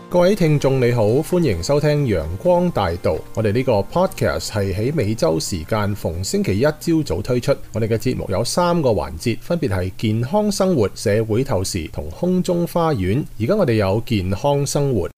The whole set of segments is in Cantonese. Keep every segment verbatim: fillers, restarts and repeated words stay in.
各位聽眾你好，歡迎收聽陽光大道。我哋呢個 podcast 係喺美洲時間逢星期一朝早推出。我哋嘅節目有三個環節，分別係健康生活、社會透視同空中花園。而家我哋有健康生活。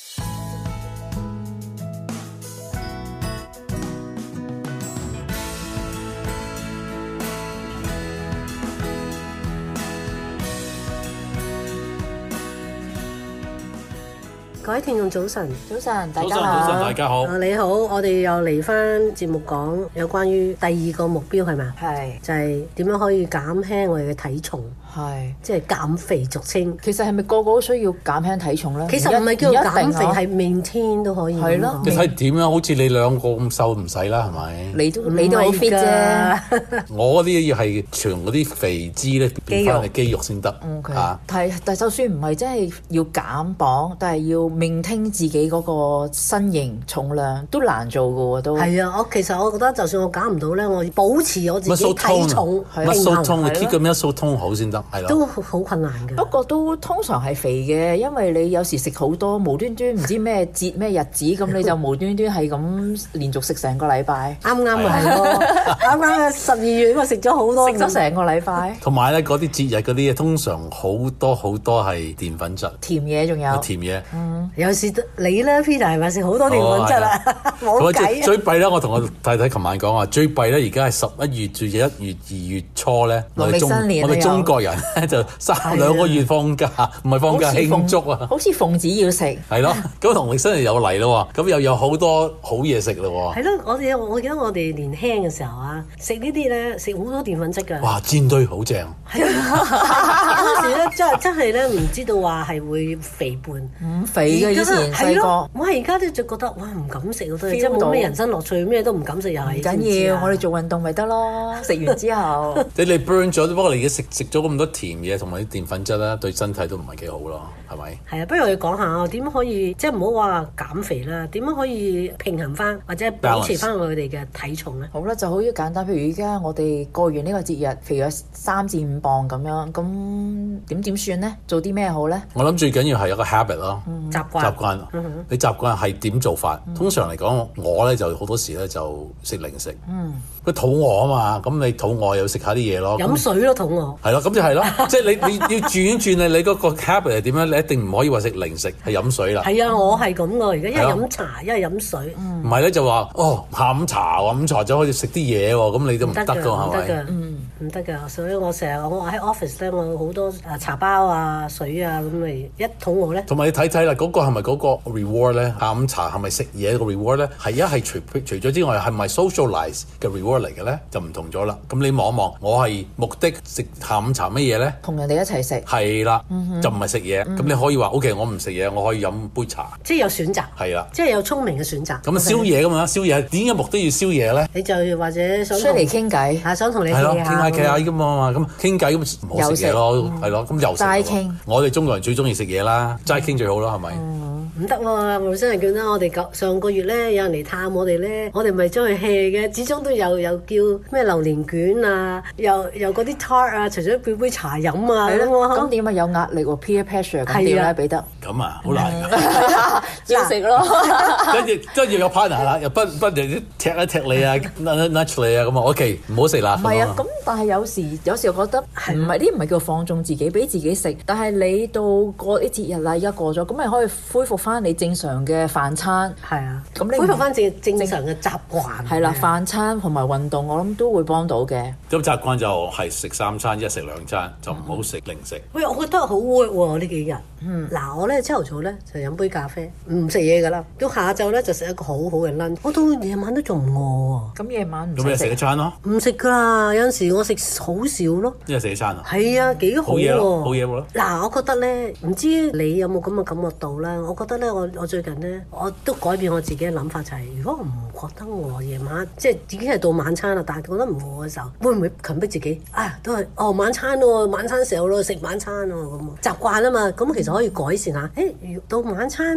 各位聽眾早晨， 早晨，大家好， 早晨，大家好。 啊，你好，我哋又嚟翻節目講有關於第二個目標係咪？ 係就係點樣可以減輕我哋嘅體重， 係即係減肥俗稱。 其實係咪個個都需要減輕體重咧？ 其實唔係叫做減肥，係maintain都可以。 係咯， 你睇點樣？好似你兩個咁瘦唔使啦，係咪？ 你都你都好 fit 啫。 我嗰啲要係全嗰啲肥脂咧變翻係肌肉先得。 OK， 啊， 但係但係就算唔係真係要減磅，但係要maintain自己嗰個身形重量都難做嘅喎，都係啊！我其實我覺得就算我減唔到咧，我保持我自己體重平衡， muscle tone，你 keep 個 muscle tone好先得，係咯， 都好困難嘅。 不過都通常係肥嘅，因為你有時食好多，無端端唔知咩節咩日子，咁你就無端端係咁連續食成個禮拜。 啱啱咪係咯，啱啱嘅十二月我食咗好多， 食咗成個禮拜。 同埋咧嗰啲節日嗰啲嘢，通常好多好多係澱粉質， 甜嘢仲有甜嘢。 嗯， 有時你咧 Peter 係咪食好多澱粉質啊？冇計啊！ 最弊咧，我同我太太琴晚講話，最弊咧而家係十一月至一月、二月初咧，我哋中我哋中國人咧就三兩個月放假，唔係放假慶祝啊！ 好似奉旨要食。 係咯，咁農曆新年又嚟咯喎，咁又有好多好嘢食咯喎。 係咯，我哋我記得我哋年輕嘅時候啊，食呢啲咧食好多澱粉質㗎。 哇，煎堆好正。 係啊，嗰陣時咧真係真係咧唔知道話係會肥胖。 唔肥嘅以前細個， 我而家都就覺得哇唔敢食好多嘢，即係冇咩人生樂趣，咩都唔敢食又係。 唔緊要，我哋做運動咪得咯。食完之後， 你你 burn 咗，不過你而家食食咗咁多甜嘢同埋啲澱粉質啦，對身體都唔係幾好咯，係咪？ 係啊，不如我哋講下點樣可以即係唔好話減肥啦，點樣可以平衡翻或者保持翻我哋嘅體重咧？ 好啦，就好簡單，譬如而家我哋過完呢個節日，肥咗三至五磅咁樣，咁點點算咧？做啲咩好咧？ 我諗最緊要係有個 habit 咯， 嗯、習慣習慣。嗯、你習慣係點做法？嗯、通常嚟講，我咧就好多時咧就食零食。嗯，佢肚餓啊嘛，咁你肚餓又食下啲嘢咯。 飲水咯，肚餓。係咯，咁就係咯，即係你你要轉一轉你你嗰個 habit 係點樣？你一定唔可以話食零食，係飲水啦。 係啊，我係咁噶，而家一係飲茶，一係飲水。 唔係咧就話哦下午茶喎，午茶就可以食啲嘢喎，咁你都唔得噶係咪？ 嗯，唔得噶，所以我成日我喺 office 咧，我好多誒茶包啊、水啊咁咪一肚餓咧。同埋你睇睇啦，嗰個係咪嗰個 reward 咧？下午茶係咪食嘢個 reward 咧？係一係除除咗之外，係咪 socialize 嘅 reward 嚟嘅咧？就唔同咗啦。咁你望一望，我係目的食下午茶乜嘢咧？ 同人哋一齊食。 係啦，就唔係食嘢。咁你可以話 OK，我唔食嘢，我可以飲杯茶。 即係有選擇。 係啦， 即係有聰明嘅選擇。 咁啊宵夜咁嘛，宵夜點解目的要宵夜咧？ 你就或者想出嚟傾偈， 係想同你傾下，傾下傾下咁嘛，咁傾偈咁唔好食嘢咯，係咯，咁又食。 齋傾。 我哋中國人最中意食嘢啦，齋傾最好啦，係咪？ 唔得喎，無生人叫得我哋上個月咧，有人嚟探我哋咧，我哋咪將佢 hea 嘅，始終都有有叫咩榴蓮卷啊，又又嗰啲 tart 啊，除咗叫杯茶飲啊， 係咯，咁點啊有壓力喎 peer pressure 咁點咧彼得？ 咁啊好難㗎，要食咯。 跟住跟住有 partner 啦，又不不停踢一踢你啊 nudge 你啊，咁啊 OK 唔好食啦。 唔係啊，咁但係有時有時我覺得唔係呢唔係叫放縱自己，俾自己食，但係你到過啲節日啦，而家過咗，咁咪可以恢復翻你正常嘅飯餐。 係啊，咁你恢復翻正正常嘅習慣。 係啦，飯餐同埋運動，我諗都會幫到嘅。 咁習慣就係食三餐，一食兩餐，就唔好食零食。 喂，我覺得好 work 喎呢幾日。嗯，嗱我咧朝頭早咧就飲杯咖啡，唔食嘢㗎啦。到下晝咧就食一個好好嘅 lunch。我到夜晚都仲唔餓喎。 咁夜晚唔咁你食一餐咯？ 唔食㗎啦，有陣時我食好少咯。 一日食一餐啊？ 係啊，幾好喎！ 好嘢喎！ 嗱，我覺得咧，唔知你有冇咁嘅感覺到啦？我覺得咧，我我最近咧，我都改變我自己嘅諗法，就係、是、如果我唔覺得餓夜晚，即係已經係到晚餐啦，但係覺得唔餓嘅時候，會唔會強迫自己啊？都係哦晚餐咯，晚餐時候咯，食晚餐咯咁習慣啊嘛，咁其實可以改善下。誒，到晚餐真係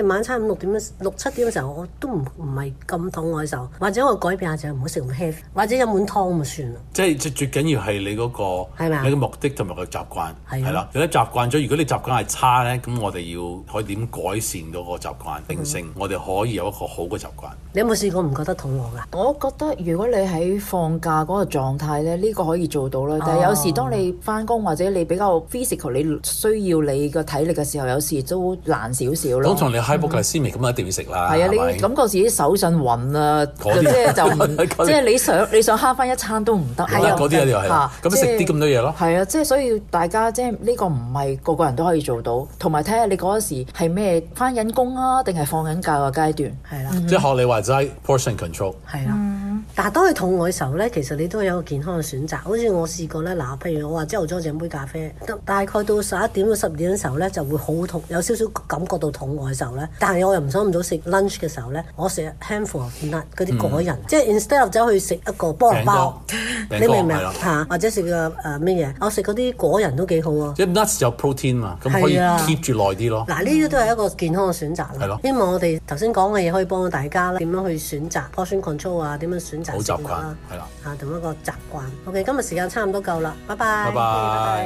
係晚餐五六點六七點嘅時候，我都唔唔係咁肚餓嘅時候，或者我改變下就唔好食咁 heavy，或者飲碗湯咁算啦。 即係最最緊要係你嗰、嗰個係咪你嘅目的同埋個習慣係係啦。如果習慣咗，如果你習慣係差咧，咁我哋要可以點改善嗰個習慣定性？嗯、我哋可以有一個好嘅習慣。 你有冇試過唔覺得肚餓㗎？ 我覺得如果你喺放假嗰個狀態咧，呢、呢個可以做到啦。但係有時當你翻工或者你比較 physical，你需要你個體力嘅時候，有時都難少少咯。 通常你 hypoglycemic 咁一定要食啦。 係啊，你感覺自己手震暈啊，即係就唔即係你想你想慳翻一餐都唔得。 係啊，嗰啲一定係啦。咁食啲咁多嘢咯。 係啊，即係所以大家即係呢個唔係個個人都可以做到，同埋睇下你嗰時係咩翻緊工啊，定係放緊假嘅階段。 係啦， 即係學你話齋 portion control。 係啦。但係當你肚餓嘅時候咧，其實你都有一個健康嘅選擇。好似我試過咧，嗱，譬如我話朝頭早飲杯咖啡，大概到十一點到十二點嘅時候咧，就會好肚，有少少感覺到肚餓嘅時候咧。但係我又唔想咁早食 lunch 嘅時候咧，我食 handful of nut 嗰啲果仁，嗯、即係 instead of 走去食一個菠蘿包，你明唔明啊？或者食個誒咩嘢？我食嗰啲果仁都幾好啊。 即係 nuts 有 protein 嘛，咁可以 keep 住耐啲咯。 嗱，呢啲都係一個健康嘅選擇啦。 係咯。 希望我哋頭先講嘅嘢可以幫到大家啦，點樣去選擇 portion control 啊，點樣選擇食物啦， 係啦， 啊同一個習慣。OK， 今日時間差唔多夠啦，拜拜。 拜拜。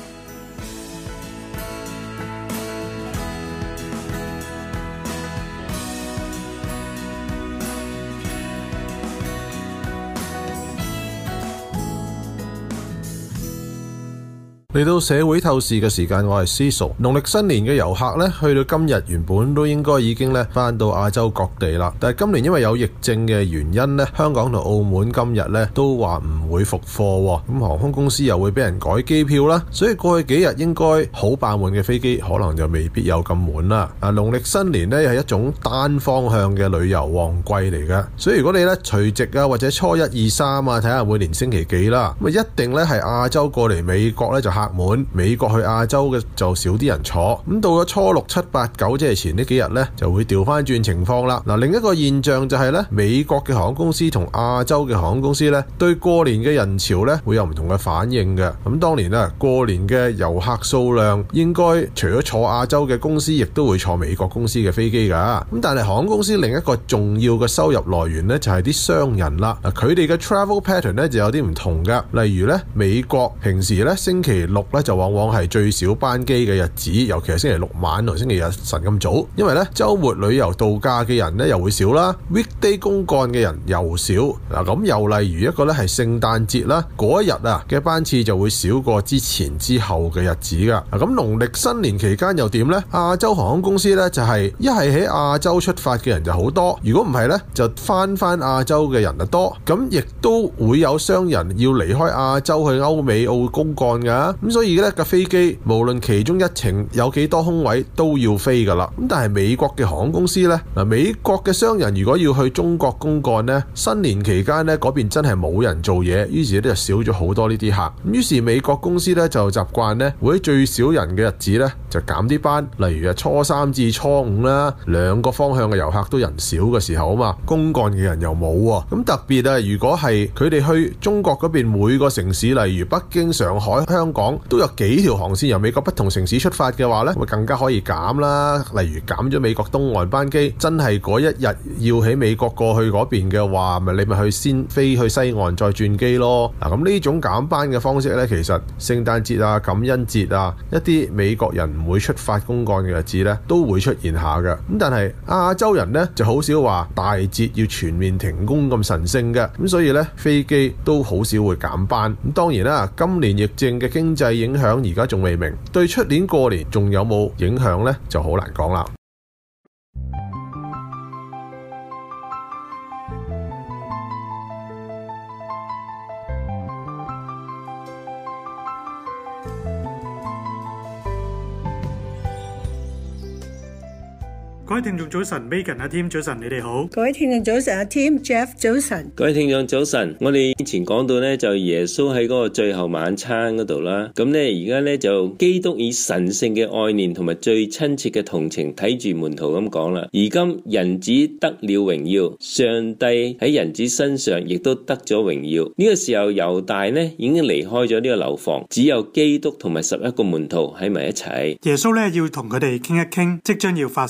嚟到社會透視嘅時間，我係 Cecil。農曆新年嘅遊客呢，去到今日原本都應該已經咧翻到亞洲各地啦。但係今年因為有疫症嘅原因呢，香港同澳門今日呢都話唔會復課，咁航空公司又會俾人改機票啦。所以過去幾日應該好爆滿嘅飛機，可能就未必有咁滿啦。啊，農曆新年呢係一種單方向嘅旅遊旺季嚟嘅，所以如果你呢除夕啊或者初一二三啊，睇下每年星期幾啦，咁啊一定呢係亞洲過嚟美國呢就客滿，美國去亞洲嘅就少啲人坐。咁到咗初六七八九，即係前呢幾日呢，就會調翻轉情況啦。嗱，另一個現象就係呢，美國嘅航空公司同亞洲嘅航空公司呢，對過年嘅人潮呢會有唔同嘅反應嘅。咁當年啊，過年嘅遊客數量應該除咗坐亞洲嘅公司，亦都會坐美國公司嘅飛機噶。咁但係航空公司另一個重要嘅收入來源呢，就係啲商人啦。嗱，佢哋嘅 travel pattern 呢就有啲唔同噶。例如呢，美國平時呢星期六咧就往往係最少班機嘅日子，尤其係星期六晚同星期日晨咁早，因為咧週末旅遊度假嘅人咧又會少啦 ，weekday 公幹嘅人又少。嗱，咁又例如一個咧係聖誕節啦，嗰一日啊嘅班次就會少過之前之後嘅日子噶。嗱，咁農曆新年期間又點呢？亞洲航空公司咧就係一係喺亞洲出發嘅人就好多，如果唔係咧就翻翻亞洲嘅人就多。咁亦都會有商人要離開亞洲去歐美澳公幹噶。咁所以咧架飛機無論其中一程有幾多空位都要飛噶啦。咁但係美國嘅航空公司呢，嗱，美國嘅商人如果要去中國公幹呢，新年期間呢嗰邊真係冇人做嘢，於是咧就少咗好多呢啲客。咁於是美國公司呢就習慣呢會喺最少人嘅日子呢就減啲班，例如啊初三至初五啦，兩個方向嘅遊客都人少嘅時候啊嘛，公幹嘅人又冇喎。咁特別啊，如果係佢哋去中國嗰邊每個城市，例如北京、上海、香港，都有幾條航線由美國不同城市出發嘅話呢，會更加可以減啦。例如減咗美國東岸班機，真係嗰一日要喺美國過去嗰邊嘅話，咪你咪去先飛去西岸再轉機咯。嗱，咁呢種減班嘅方式呢，其實聖誕節啊、感恩節啊，一啲美國人唔會出發公幹嘅日子呢，都會出現下嘅。咁但係亞洲人呢，就好少話大節要全面停工咁神聖嘅，咁所以呢，飛機都好少會減班。咁當然啦，今年疫症嘅經濟影響而家仲未明，對出年過年仲有冇影響呢？就好難講啦。 各位聽眾早晨 ，Megan 阿 Tim 早晨，你哋好。 各位聽眾早晨，阿 Tim Jeff 早晨。 各位聽眾早晨。我哋以前講到咧，就耶穌喺嗰個最後晚餐嗰度啦。咁咧而家咧就基督以神聖嘅愛念同埋最親切嘅同情睇住門徒咁講啦。而今人子得了榮耀，上帝喺人子身上亦都得咗榮耀。呢、這個時候猶大呢已經離開咗呢個樓房，只有基督同埋十一個門徒喺埋一齊。 耶穌咧要同佢哋傾一傾即將要發生嘅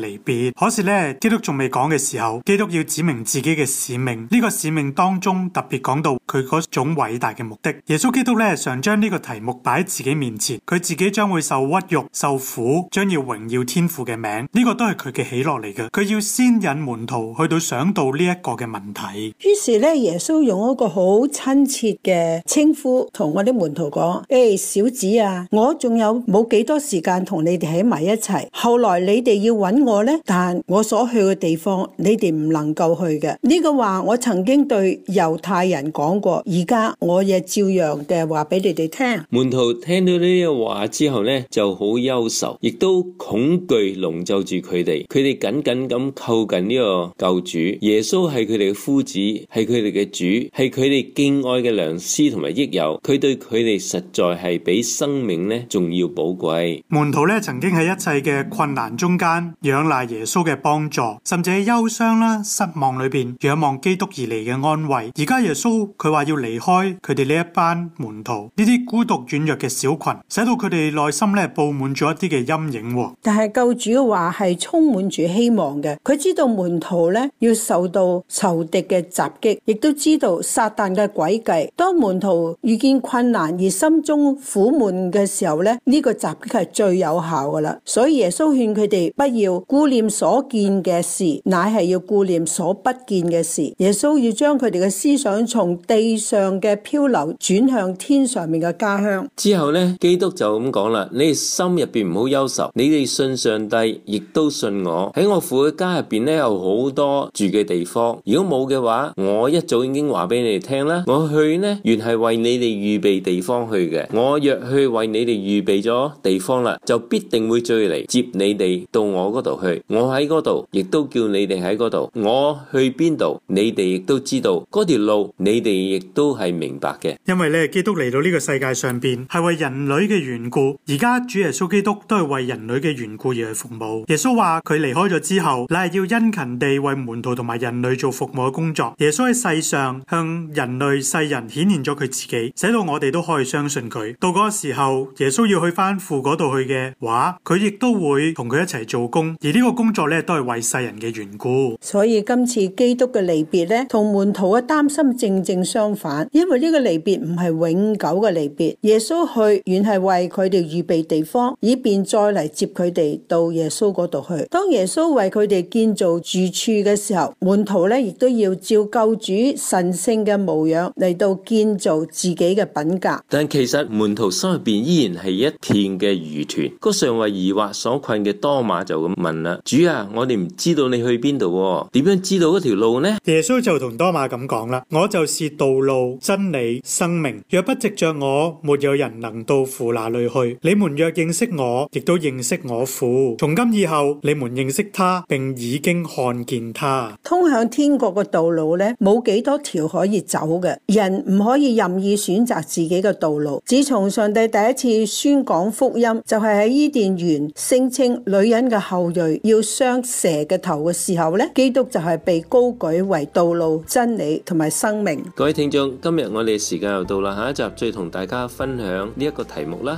離別。可是咧，基督仲未講嘅時候，基督要指明自己嘅使命。呢個使命當中特別講到佢嗰種偉大嘅目的。耶穌基督咧常將呢個題目擺喺自己面前，佢自己將會受屈辱、受苦，將要榮耀天父嘅名。呢個都係佢嘅喜樂嚟嘅。佢要先引門徒去到想到呢一個嘅問題。 於是咧，耶穌用一個好親切嘅稱呼同我啲門徒講：誒，小子啊，我仲有冇幾多時間同你哋喺埋一齊？後來你哋要揾我呢，但我所去嘅地方，你哋唔能夠去嘅。呢個話我曾經對猶太人講過，而家我亦照樣嘅話俾你哋聽。 門徒聽到呢啲話之後呢，就好憂愁，亦都恐懼籠罩住佢哋。佢哋緊緊咁靠近呢個救主。耶穌係佢哋嘅夫子，係佢哋嘅主，係佢哋敬愛嘅良師同埋益友。佢對佢哋實在係比生命呢仲要寶貴。 門徒咧曾經喺一切嘅困難中間仰賴耶穌嘅幫助，甚至喺憂傷啦、失望裏邊仰望基督而嚟嘅安慰。而家耶穌佢話要離開佢哋呢一班門徒，呢啲孤獨軟弱嘅小群，使到佢哋內心咧布滿咗一啲嘅陰影。 但係救主嘅話係充滿住希望嘅，佢知道門徒咧要受到仇敵嘅襲擊，亦都知道撒旦嘅詭計。當門徒遇見困難而心中苦悶嘅時候咧，呢個襲擊係最有效噶啦。所以耶穌勸佢哋不要顧念所見嘅事，乃係要顧念所不見嘅事。耶穌要將佢哋嘅思想從地上嘅漂流轉向天上面嘅家鄉。 之後呢，基督就咁講啦：你哋心入邊唔好憂愁，你哋信上帝，亦都信我。喺我父嘅家入邊呢，有好多住嘅地方。如果冇嘅話，我一早已經話俾你哋聽啦。我去呢，原係為你哋預備地方去嘅。我若去為你哋預備咗地方啦，就必定會追嚟接你哋到我嗰度去。我喺嗰度，亦都叫你哋喺嗰度。我去邊度，你哋亦都知道。嗰條路，你哋亦都係明白嘅。 因為咧，基督嚟到呢個世界上邊係為人類嘅緣故，而家主耶穌基督都係為人類嘅緣故而去服務。耶穌話佢離開咗之後，乃係要殷勤地為門徒同埋人類做服務嘅工作。耶穌喺世上向人類世人顯現咗佢自己，使到我哋都可以相信佢。到嗰個時候，耶穌要去翻父嗰度去嘅話，佢亦都會同佢一齊做工，而呢個工作咧都係為世人嘅緣故。 所以今次基督嘅離別咧，同門徒嘅擔心正正相反，因為呢個離別唔係永久嘅離別。耶穌去原係為佢哋預備地方，以便再嚟接佢哋到耶穌嗰度去。當耶穌為佢哋建造住處嘅時候，門徒咧亦都要照救主神聖嘅模樣嚟到建造自己嘅品格。 但其實門徒心入邊依然係一片嘅疑團。嗰尚為疑惑所困嘅多馬就咁問啦：主啊，我哋唔知道你去邊度，點樣知道嗰條路呢？ 耶穌就同多馬咁講啦：我就是道路、真理、生命，若不藉着我，沒有人能到父那裏去。你們若認識我，亦都認識我父。從今以後，你們認識他，並已經看見他。 通向天國嘅道路咧，冇幾多條可以走嘅，人唔可以任意選擇自己嘅道路。自從上帝第一次宣講福音，就係喺伊甸園聲稱女人嘅後裔要傷蛇嘅頭嘅時候咧，基督就係被高舉為道路、真理同埋生命。 各位聽眾，今日我哋時間又到啦，下一集再同大家分享呢一個題目啦。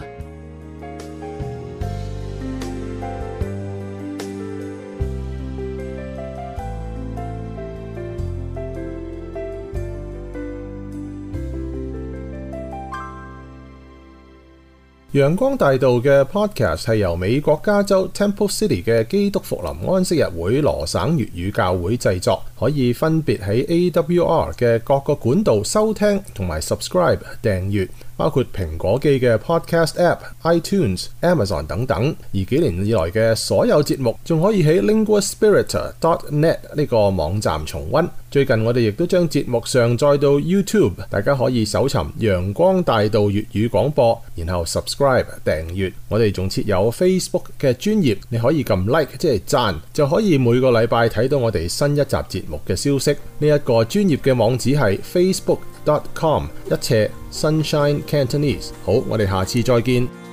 陽光大道嘅 podcast 係由美國加州 Temple City 嘅基督復臨安息日會羅省粵語教會製作，可以分別喺 A W R 嘅各個管道收聽同埋 subscribe 訂閱，包括蘋果機嘅 podcast app、iTunes、Amazon 等等。而幾年以來嘅所有節目仲可以喺 linguaspirit dot net 呢個網站重溫。最近我哋亦都將節目上載到 YouTube， 大家可以搜尋陽光大道粵語廣播，然後 subscribe 訂閱。我哋仲設有 Facebook 嘅專頁，你可以撳 like 即係讚，就可以每個禮拜睇到我哋新一集節目嘅消息。呢一個專頁嘅網址係 facebook dot com 一斜 Sunshine Cantonese。好，我哋下次再見。